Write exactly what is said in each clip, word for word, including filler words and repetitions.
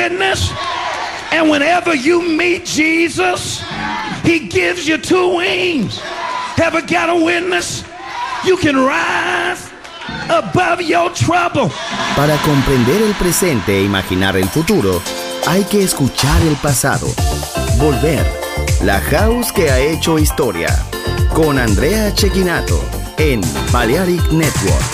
witness. And whenever you meet Jesus, he gives you two wings. Ever got a witness? You can rise above your trouble. Para comprender el presente e imaginar el futuro, hay que escuchar el pasado. Volver. La house que ha hecho historia. Con Andrea Cecchinato en Balearic Network.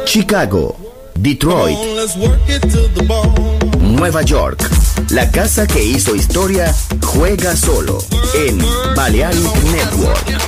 Chicago, Detroit, Nueva York. La casa que hizo historia juega solo en Balearic Network.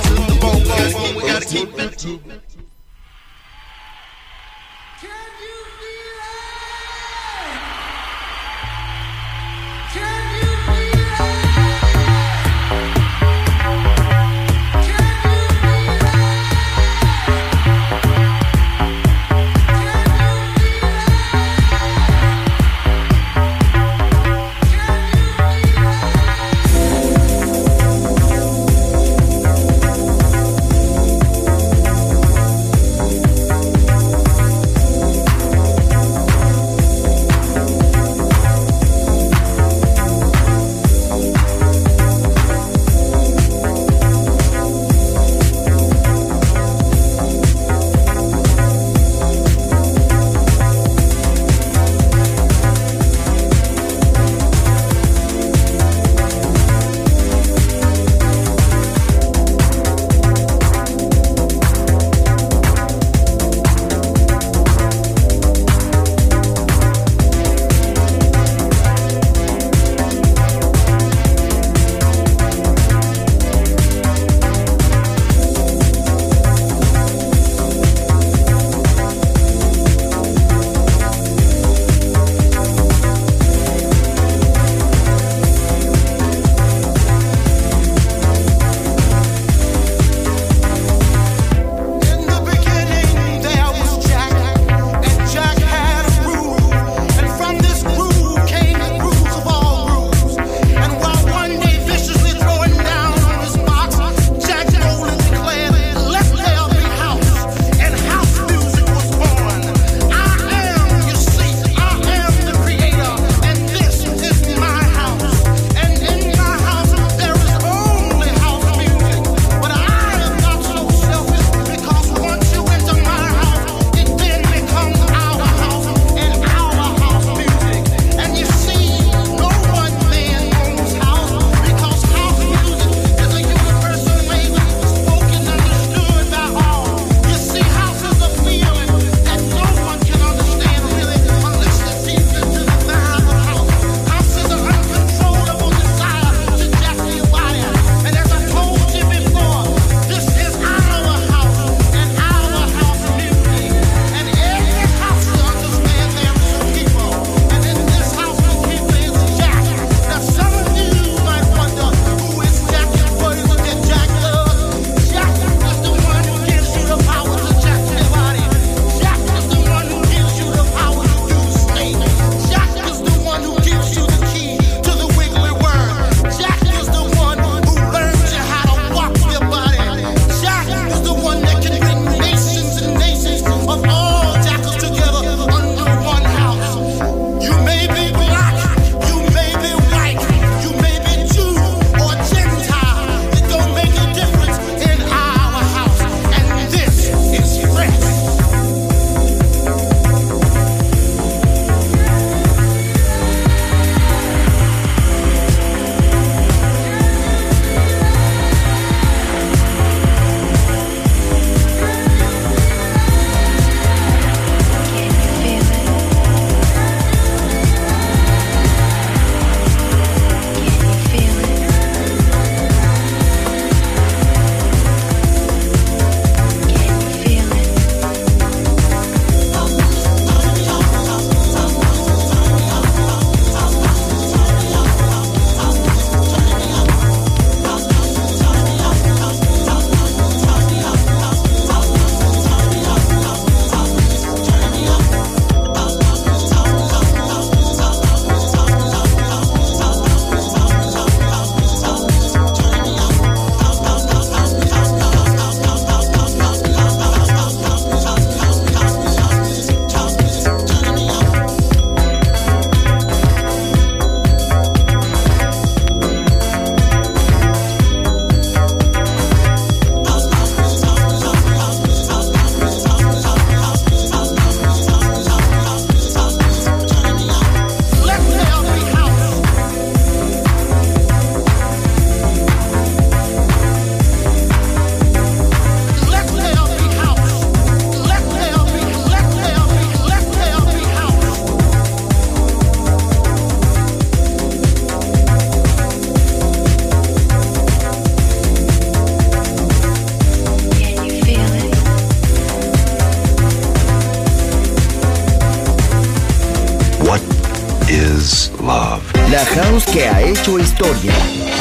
La house que ha hecho historia.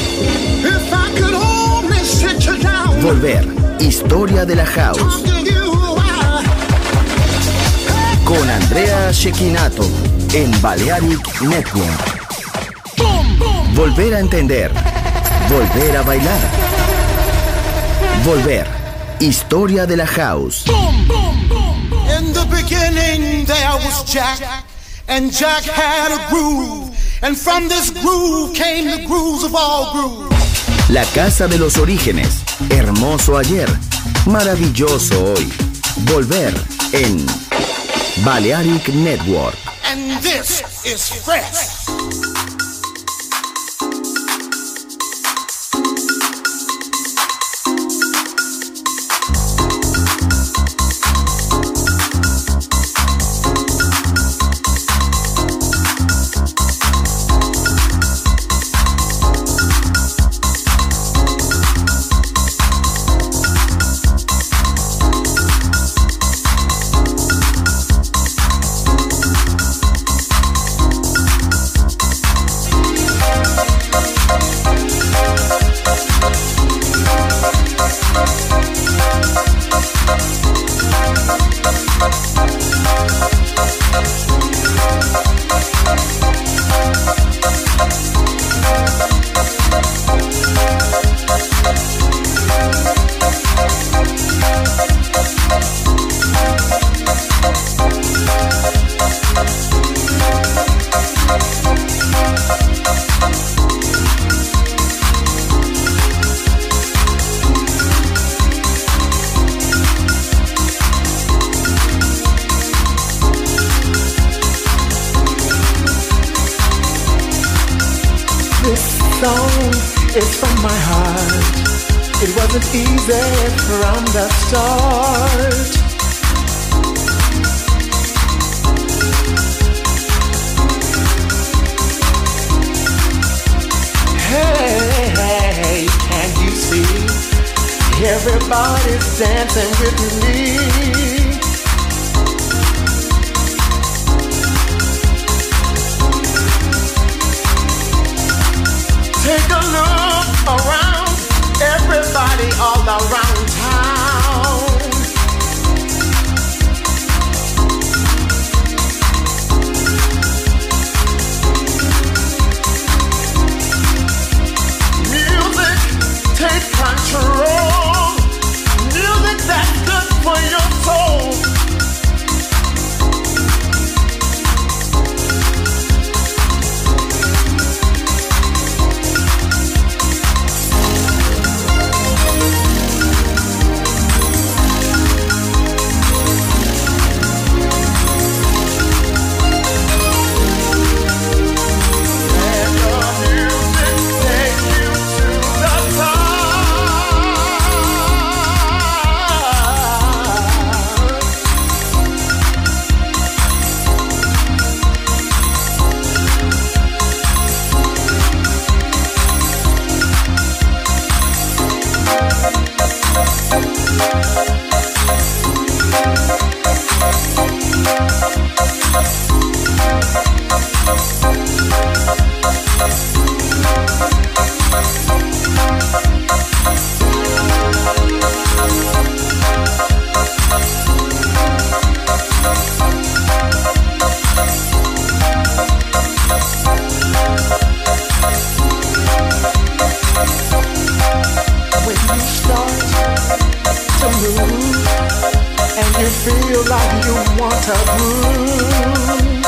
Volver, historia de la house. Con Andrea Cecchinato en Balearic Network. Volver a entender. Volver a bailar. Volver, historia de la house. In the beginning there was Jack, and Jack had a groove, and from this groove came the grooves of all grooves. La casa de los orígenes, hermoso ayer, maravilloso hoy. Volver en Balearic Network. And this is fresh. It's from my heart. It wasn't easy from the start. Hey, hey, can't you see? Everybody's dancing with me. Take a look around, everybody all around town. Music, take control. Music that's good for your soul. Feel like you want to groove.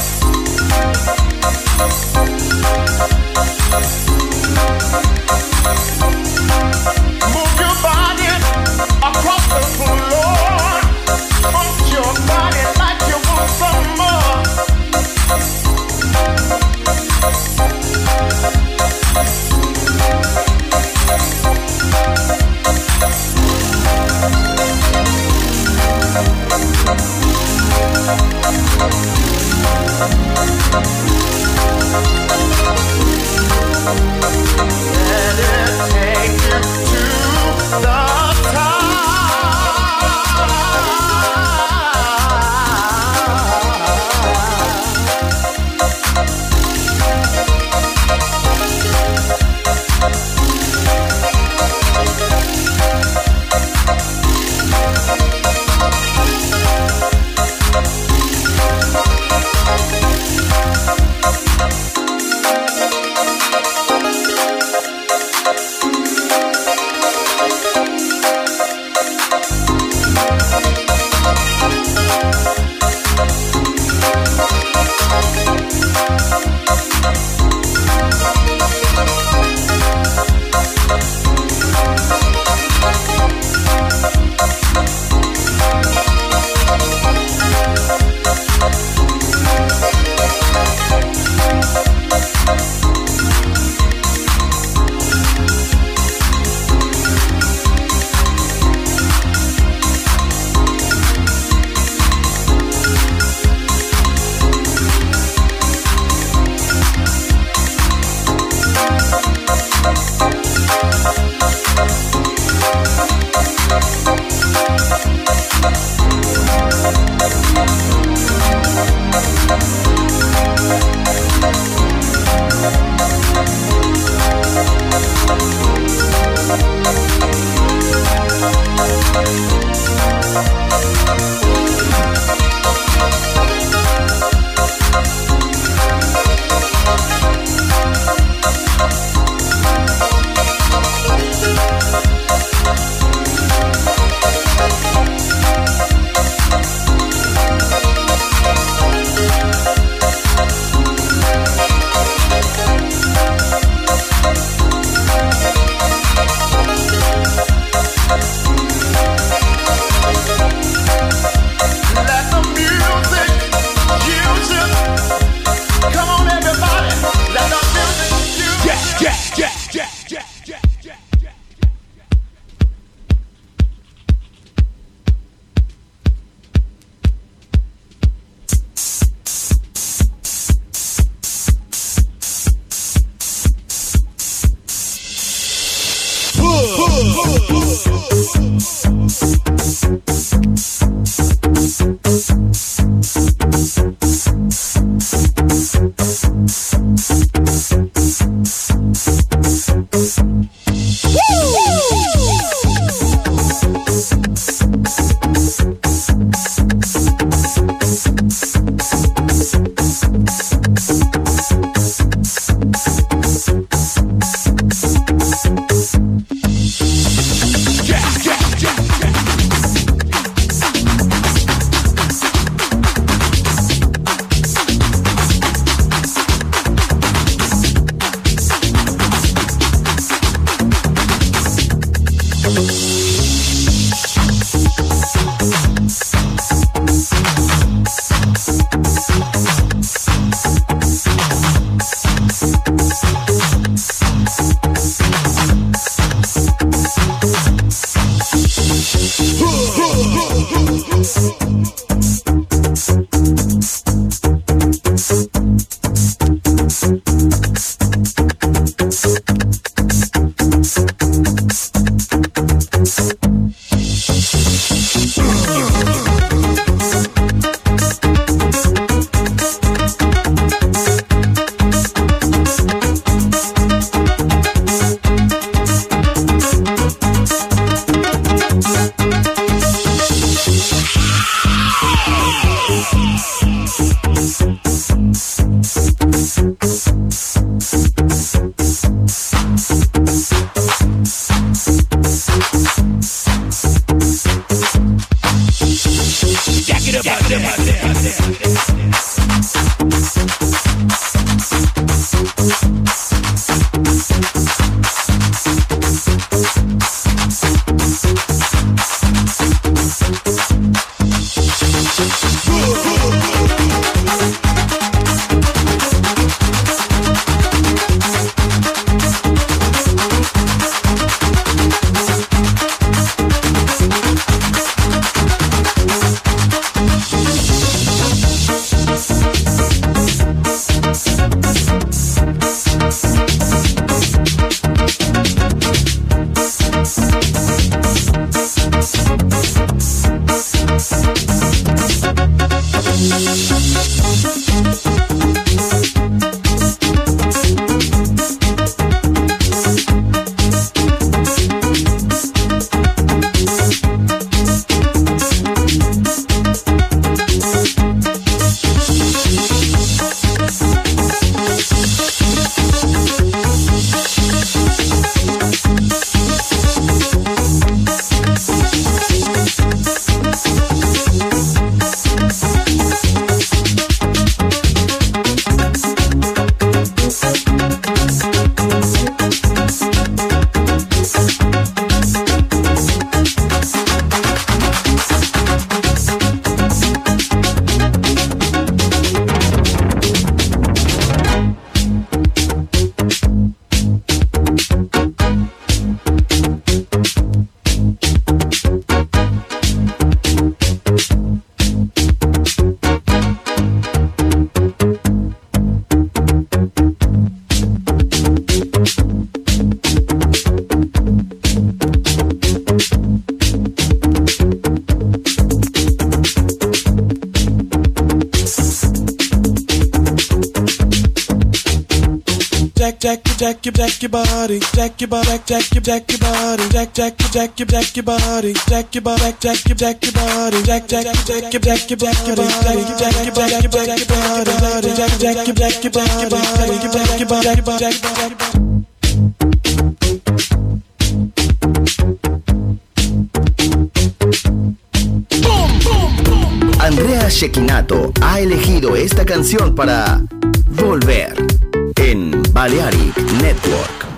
Move your body across the floor. Pump your body like you want some more. Jack, Jack, Jack, Jack, Jack. jack, jack, jack, jack your body, jack your body, jack, jack, jack your body, jack, jack, jack, jack your body, jack your body, jack, jack your body, jack, jack, jack, jack your body, jack, jack, jack your body, jack, jack, jack your body, jack your body, jack your body. Andrea Cecchinato ha elegido esta canción para Volver en Balearic Network.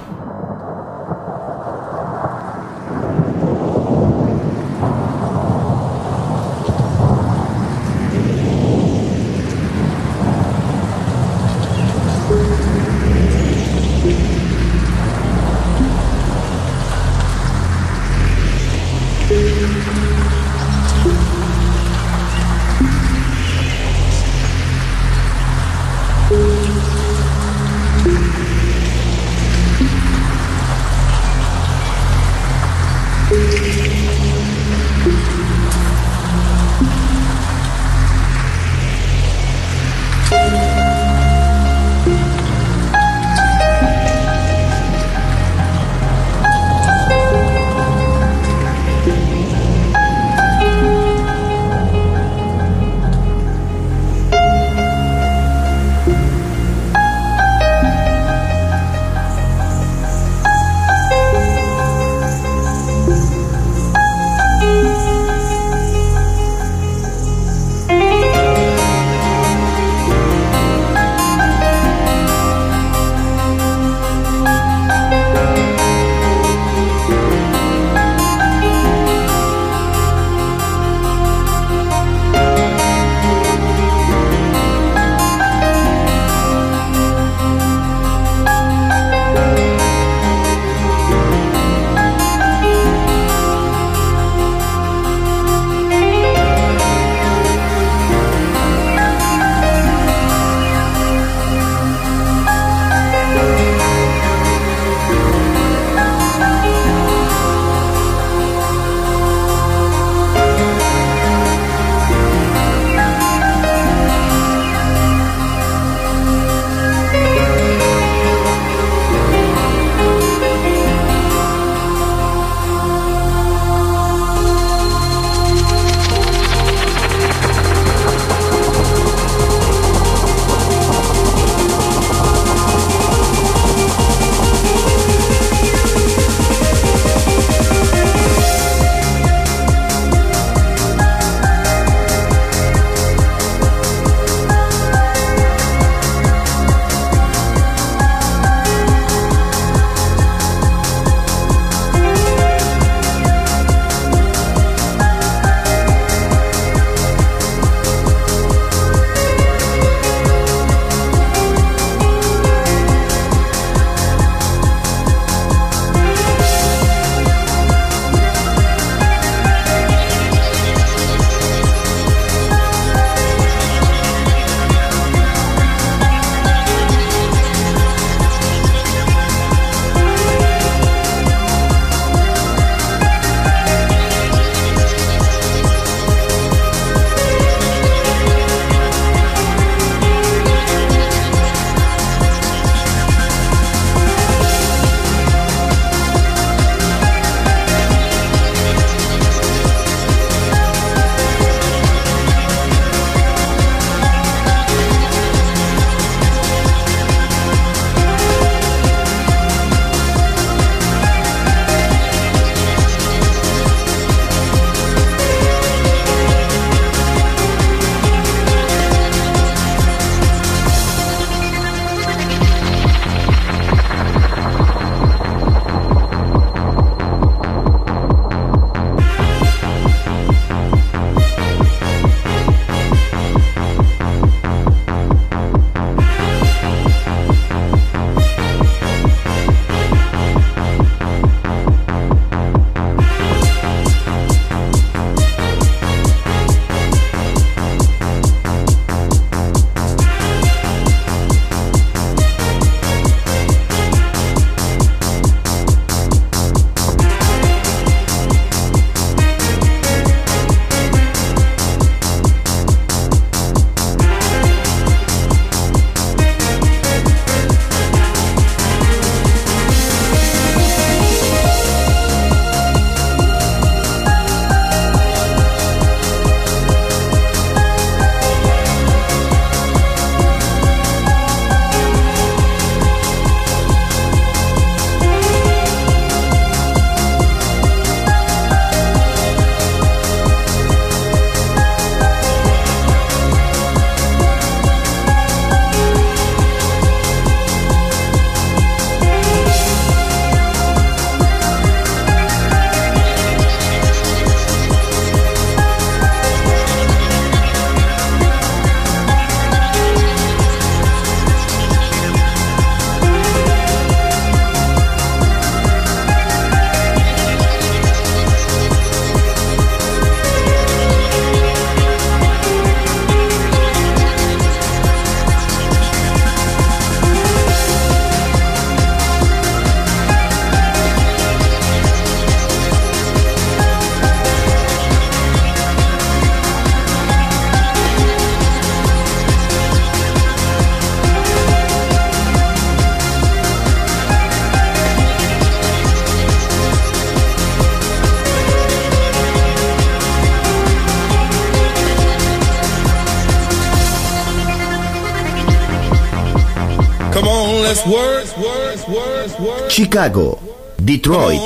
Chicago, Detroit,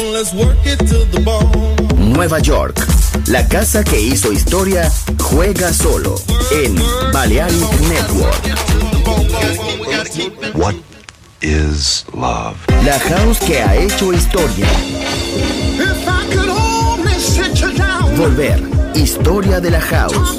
Nueva York. La casa que hizo historia juega solo en Balearic Network. What is love? La house que ha hecho historia. Volver, historia de la house.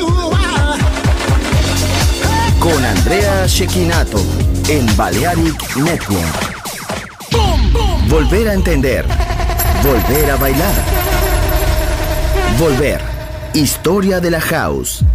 Con Andrea Cecchinato en Balearic Network. Volver a entender. Volver a bailar. Volver, historia de la house.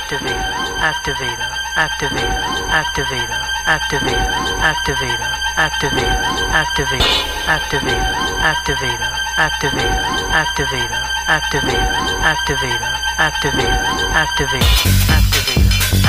activator, activator, activator, activator, activator, activator, activator, activator, activator, activator, activator, activator, activator, activator, activator, activator, activator.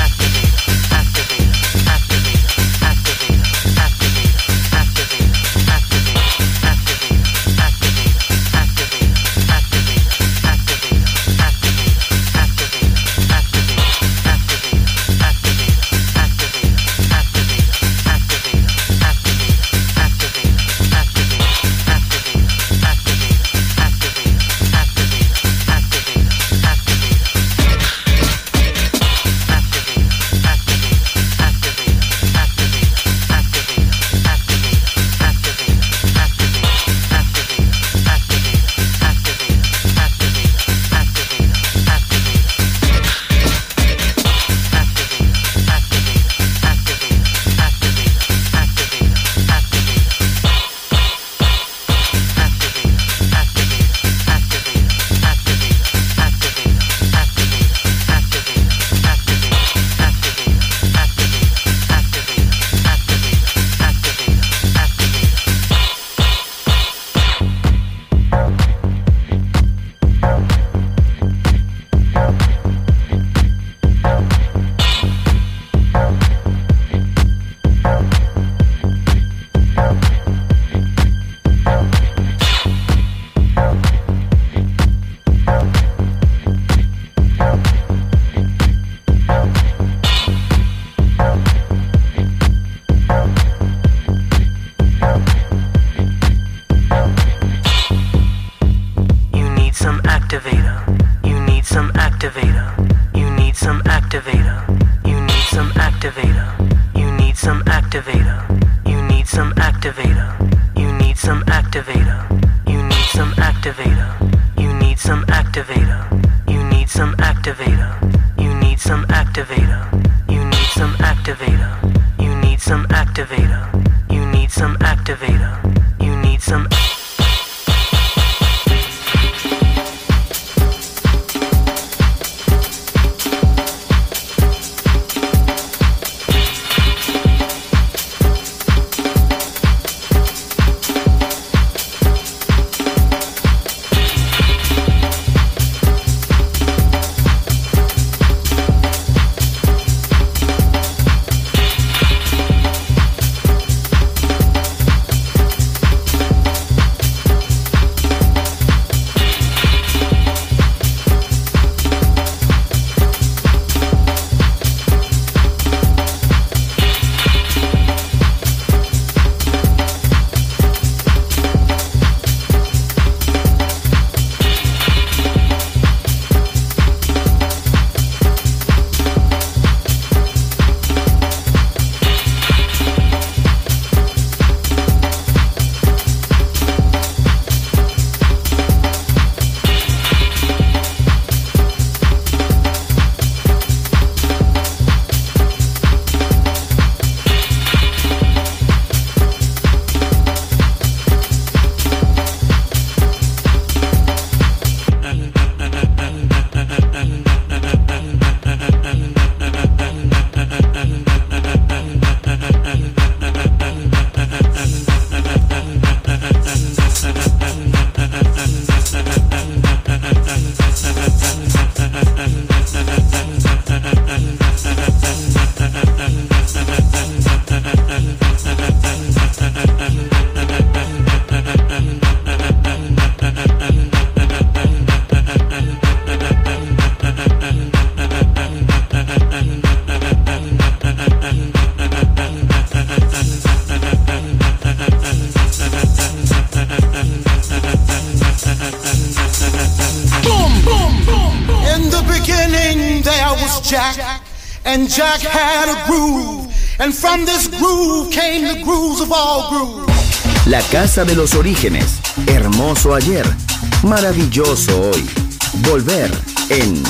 Jack, and Jack had a groove, and from this groove came the grooves of all grooves. La casa de los orígenes, hermoso ayer, maravilloso hoy. Volver en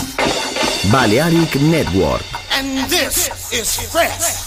Balearic Network. And this is fresh.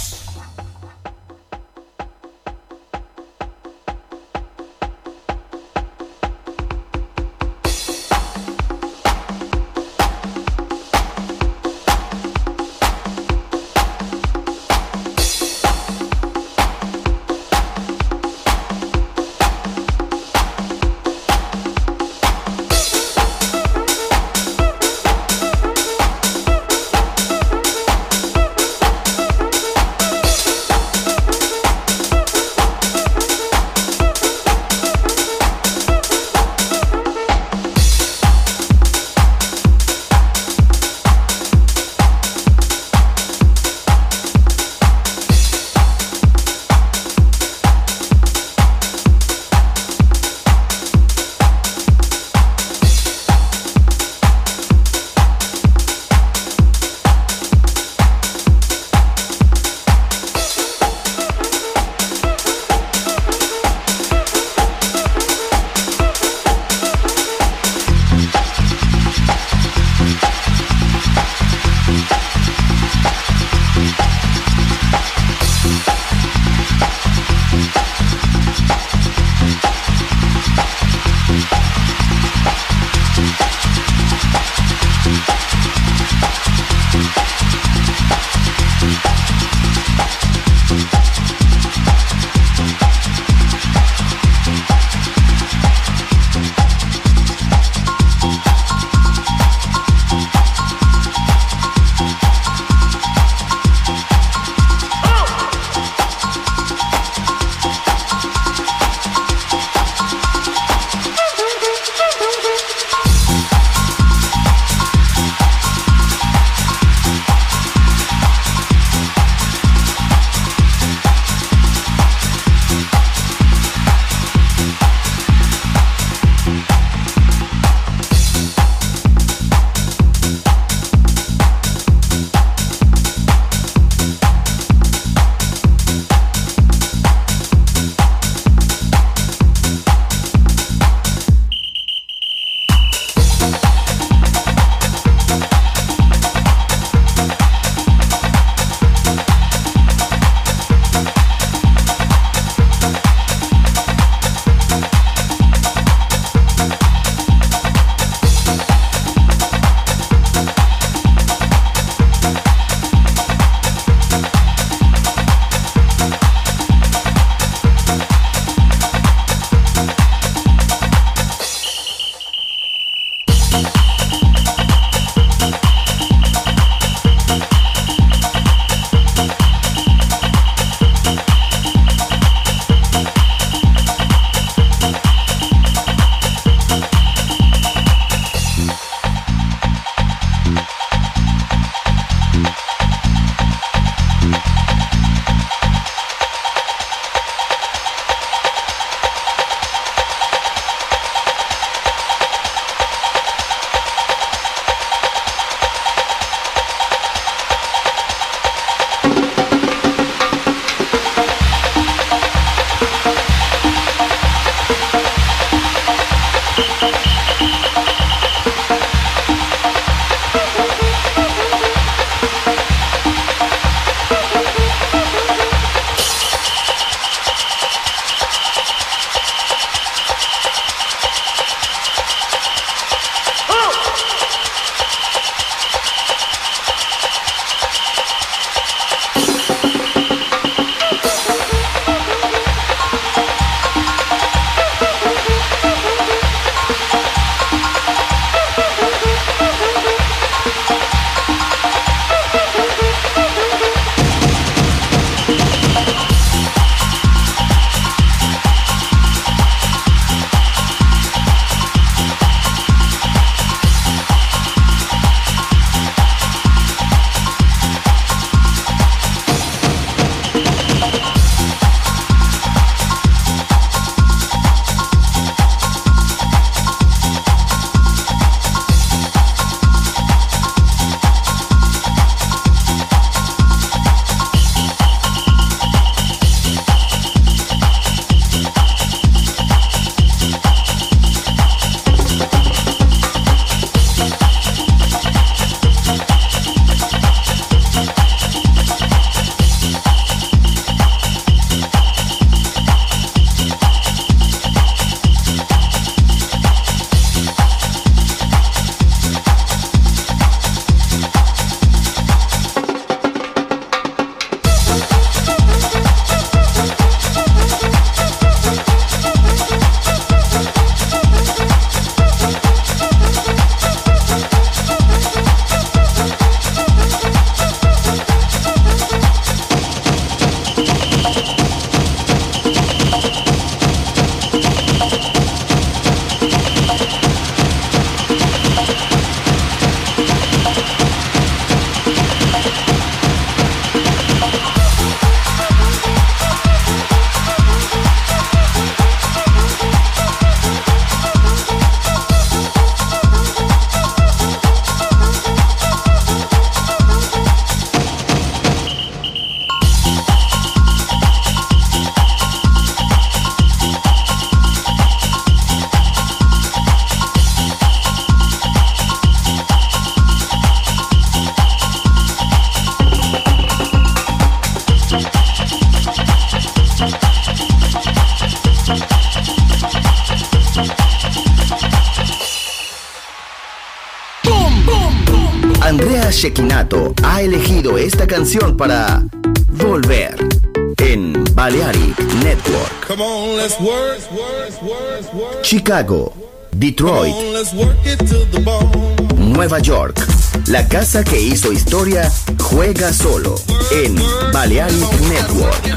Andrea Cecchinato ha elegido esta canción para volver en Balearic Network. Come on, let's work. Chicago, Detroit, Come on, let's work it to the bone. Nueva York. La casa que hizo historia juega solo en Balearic Network.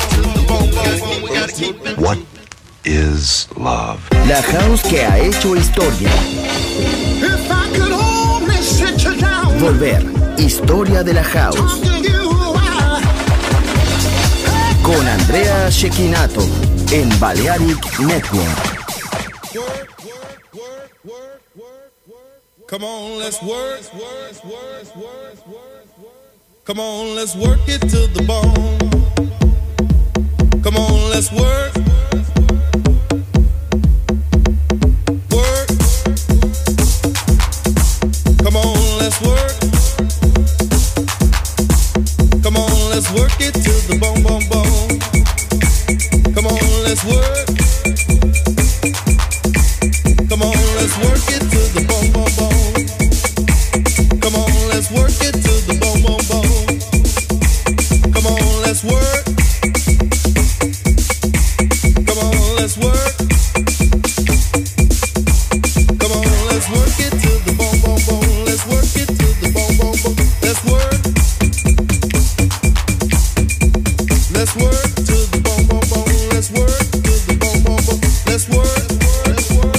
What is love? La house que ha hecho historia. If I could only sit you down, Volver, historia de la house. talk to you while Con Andrea Cecchinato en Balearic Network. Come on, let's work. Come on, let's work it to the bone. Come on, let's work. Work. Come on, let's work. Come on, let's work it to the bone, bone, bone. Come on, let's work. Come on, let's work it to the bone, bone, bone. Come on, let's work it to the bone, bone, bone. Come on, let's work. Come on, let's work. Come on, let's work it to the bone, bone, bone. Let's work it to the bone, bone, bone. Let's work. Let's work to the bone, bone, bone. Let's work to the bone, bone, bone. Let's work. Let's work.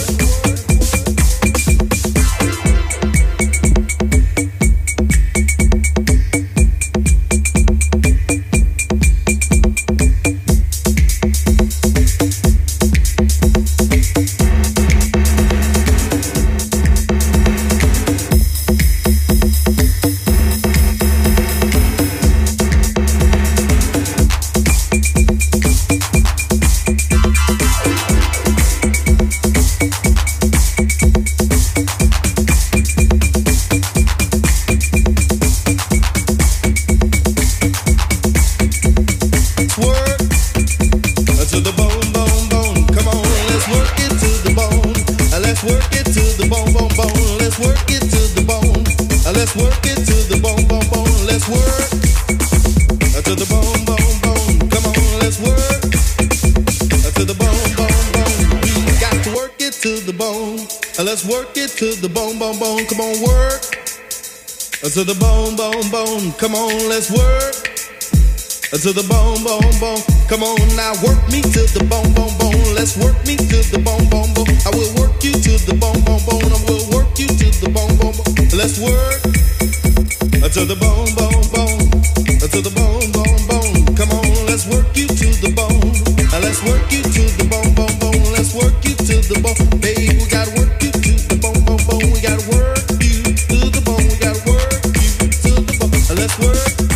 To the bone, bone, bone. Come on, let's work. To the bone, bone, bone. Come on now, work me to the bone, bone, bone. Let's work me to the bone, bone, bone. I will work you to the bone, bone, bone. I will work you to the bone, bone, bone. Let's work. To the bone, bone, bone. To the bone, bone, bone. Come on, let's work you to the bone. Let's work you to the bone, bone, bone. Let's work you to the bone. Baby, we gotta work you to the bone, bone, bone. We gotta work you to the bone. We gotta work. Let's work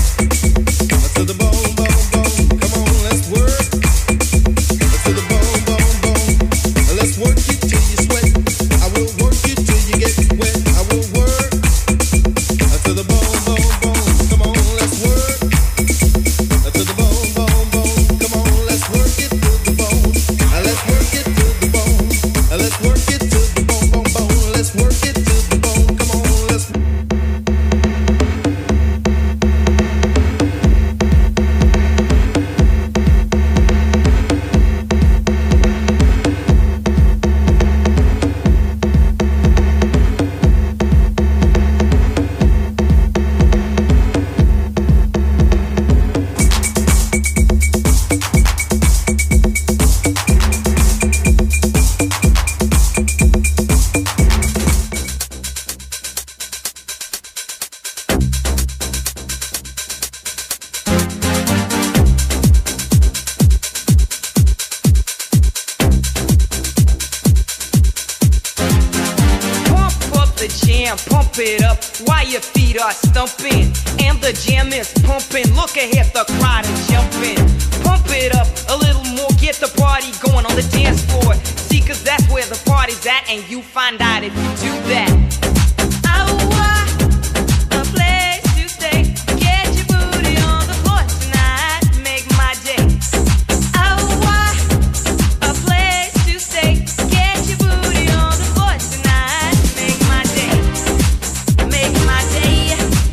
to the bone, bone, bone. Come on, let's work to the bone, bone, bone. Let's work you till you sweat. I will work you till you get wet. I will work to the bone, bone, bone. Come on, let's work to the bone, bone, bone. Come on, let's work it to the bone. Let's work it to the bone. Let's work it to the bone, bone, bone. Let's work it to the bone. Come on, let's. Pump it up while your feet are stumping and the jam is pumping. Look ahead, the crowd is jumping. Pump it up a little more, get the party going on the dance floor. See, cause that's where the party's at, and you find out if you do that. A place to stay. Get your booty on the floor tonight. Make my day. A place to stay. Get your booty on the floor tonight. Make my day. Make my day.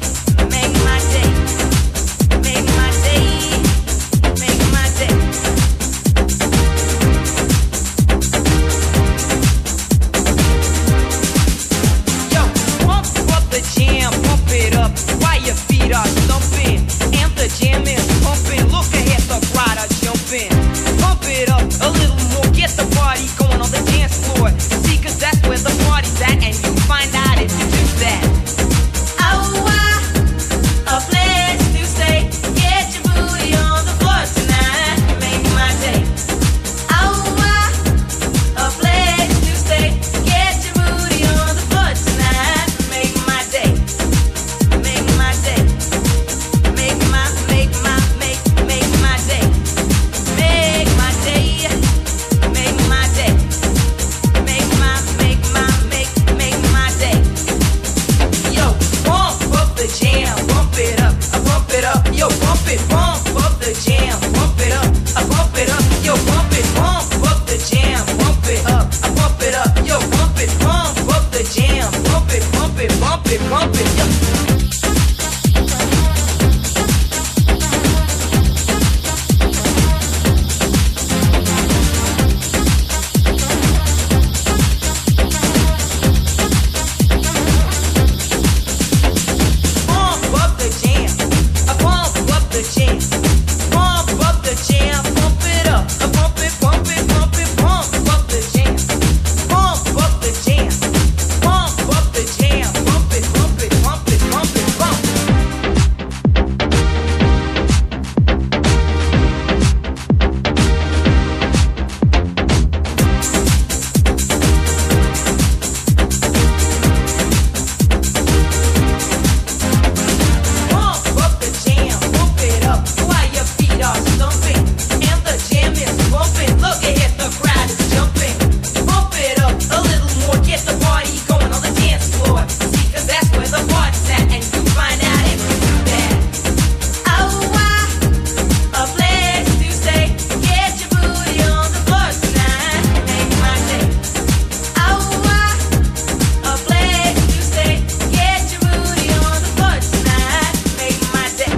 feet are stumping and the jam is pumping. Look ahead, the crowd are jumping. Pump it up a little more, get the party going on the dance floor. See, cause that's where the party's at, and you find out if you do that. Oh, I, a place to stay. Get your booty on the floor tonight, make my day. Oh, I, a place to stay. Get your booty on the floor tonight, make my day. Make my day. Make my, make my, make, make my day. Make my day. Make my day. Make my, make my, make, make my day. Yo, pump up the jam, bump it up, I bump it up. Yo, bump it, pump up the jam, bump it up, I bump it up. Yo, bump it, pump up the jam, bump it up, I bump it up. Yo, bump it, pump up the jam, bump it, bump it, bump it, bump it. Yo. Pump up the jam, I pump up the jam, pump up the jam, pump it up, I pump it, pump it, pump it, pump up the jam, pump up the jam, pump up the jam, pump it, pump it, pump it, pump it, pump. Pump up the jam, pump it up while your feet are stumping and the jam is bumping. Look ahead, the crowd is jumping. Pump it up a little more, get the party going on the dance floor. See, cause that's where the party's at, and you find out if you do that. Oh, I, a place to stay. Get your booty on the floor tonight, make my day. Oh, I, a place to stay. Get your booty on the floor tonight, make my day.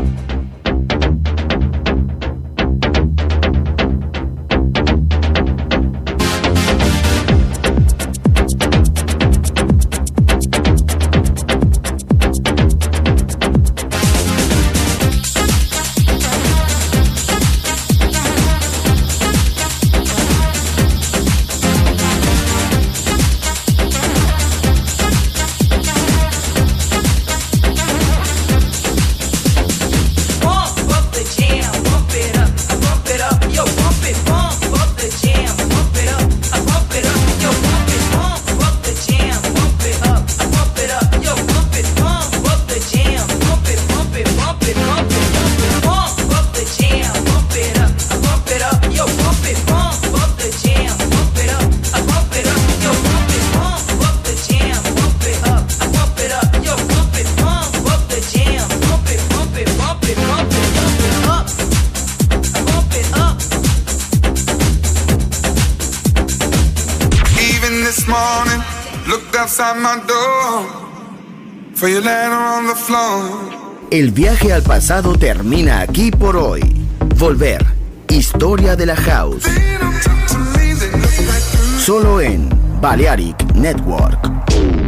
Pump up the jam, bump it up, I bump it up. Yo, bump it, pump up the jam, bump it up, I bump it up. Yo, bump it, pump up the jam, bump it up, I bump it up. Yo, bump it, pump up the jam, bump it, bump it, bump it, bump it, bump it. Pump up the jam, bump it up, I bump it up. Yo, bump it, pump up the jam, bump it up, I bump it up. Yo, bump it, pump up the jam, bump it up, I bump it up. Yo, bump it, pump up the jam, bump it, bump it, bump it, bump it, bump it up, I bump it up. Even this morning, looked outside my door for your letter on the floor. El viaje al pasado termina aquí por hoy. Volver. Historia de la House. Solo en Balearic Network.